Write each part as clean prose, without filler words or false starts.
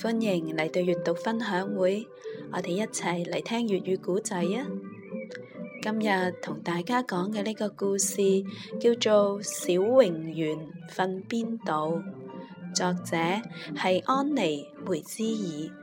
歡迎嚟到閱讀分享會，我哋一齊嚟聽粵語古仔啊！今日同大家講嘅呢個故事叫做《小榮園瞓邊度》，作者係安妮梅茲爾。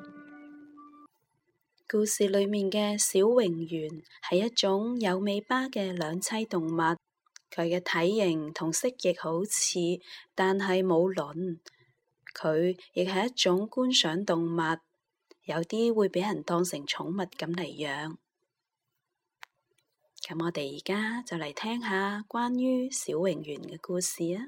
故事裏面嘅小榮園係一種有尾巴嘅兩棲動物，佢嘅體型同蜥蜴好似，但係冇鱗。佢亦係一種觀賞動物，有啲會俾人當成寵物咁嚟養。咁我哋而家就嚟聽下關於小榮園嘅故事啊！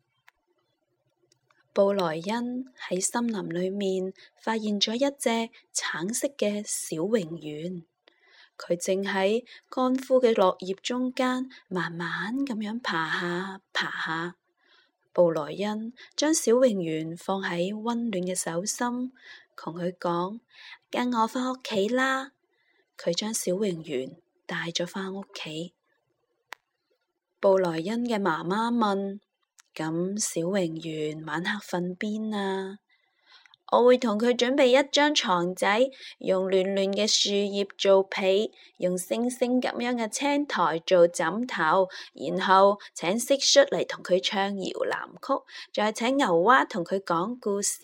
布萊恩喺森林裏面發現咗一隻橙色嘅小榮園，佢正喺乾枯嘅落葉中間慢慢咁樣爬下爬下。布萊恩將小榮園放喺溫暖嘅手心，同佢講：跟我返屋企啦！佢將小榮園帶咗返屋企。布萊恩嘅媽媽問：咁小榮園晚黑瞓邊啊？我會同佢準備一張床仔，用暖暖嘅樹葉做被，用星星咁樣嘅青苔做枕頭，然後請蟋蟀嚟同佢唱搖籃曲，再請牛蛙同佢講故事。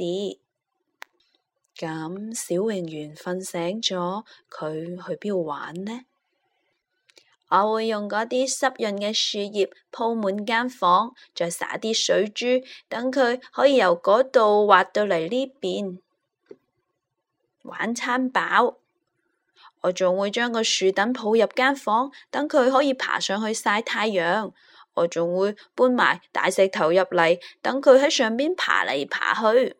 咁小榮園瞓醒咗，佢去邊度玩呢？我會用嗰啲濕潤嘅樹葉鋪滿間房，再灑啲水珠，等佢可以由嗰度滑到嚟呢邊玩餐飽。我仲會將個樹墩抱入間房，等佢可以爬上去曬太陽。我仲會搬埋大石頭入嚟，等佢喺上邊爬嚟爬去。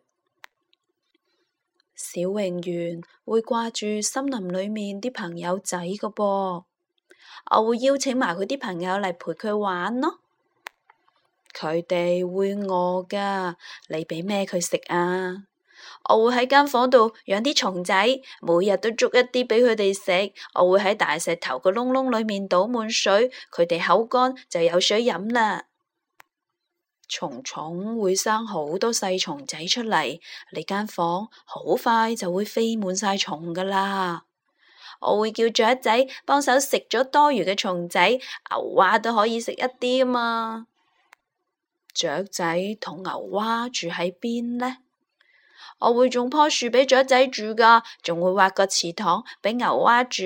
小榮園會掛住森林裏面啲朋友仔㗎噃。我會邀請埋佢啲朋友嚟陪佢玩咯。佢哋會餓㗎，你俾咩佢食啊？我會喺間房度養啲蟲仔，每日都捉一啲俾佢哋食。我會喺大石頭個窿窿裏面倒滿水，佢哋口乾就有水飲啦。蟲蟲會生好多細蟲仔出嚟，你間房好快就會飛滿晒蟲㗎啦。我會叫雀仔幫手食咗多餘嘅蟲仔，牛蛙都可以食一啲啊嘛。雀仔同牛蛙住喺邊呢？我會種棵樹俾雀仔住㗎，仲會挖個池塘俾牛蛙住。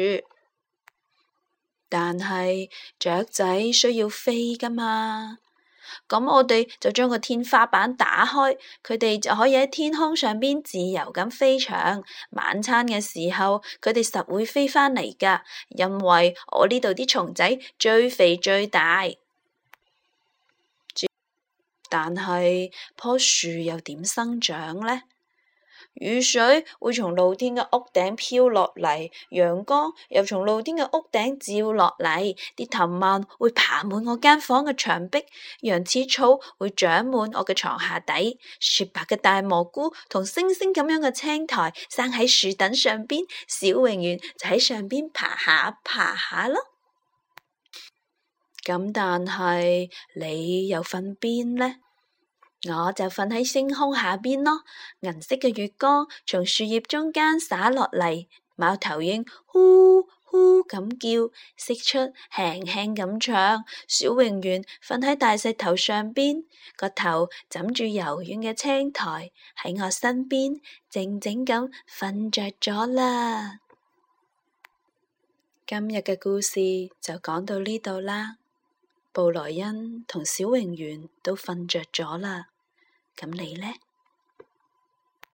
但係雀仔需要飛㗎嘛。咁我哋就將個天花板打開，佢哋就可以喺天空上邊自由咁飛翔。晚餐嘅時候，佢哋實會飛返嚟㗎，因為我呢度啲蟲仔最肥最大。但係棵樹又點生長呢？雨水會從露天嘅屋頂飄落嚟，陽光又從露天嘅屋頂照落嚟，啲藤蔓會爬滿我間房嘅牆壁，羊齒草會長滿我嘅床下底，雪白嘅大蘑菇同星星咁樣嘅青苔生喺樹墩上邊，小榮園就喺上邊爬下爬下咯。咁但係你又瞓邊呢？我就瞓喺星空下邊咯，銀色嘅月光從樹葉中間灑落嚟，貓頭鷹呼呼咁叫，蟋蟀輕輕咁唱，小榮園瞓喺大石頭上邊，個頭枕住柔軟嘅青苔，喺我身邊靜靜咁瞓着咗啦。今日嘅故事就講到呢度啦。布萊恩同小榮園都瞓着咗啦，咁你呢？